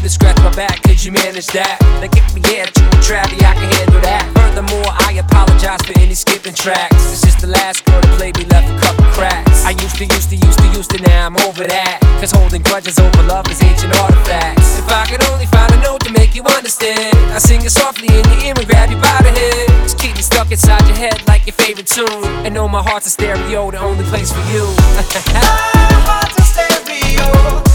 to scratch my back, could you manage that? Now get me here to a Travie, I can handle that. Furthermore, I apologize for any skipping tracks. It's just the last girl that played me left a couple cracks. I used to, now I'm over that. Cause holding grudges over love is ancient artifacts. If I could only find a note to make you understand, I sing it softly in your ear and grab you by the head. Just keep me stuck inside your head like your favorite tune. And know my heart's a stereo, the only place for you. My heart's a stereo.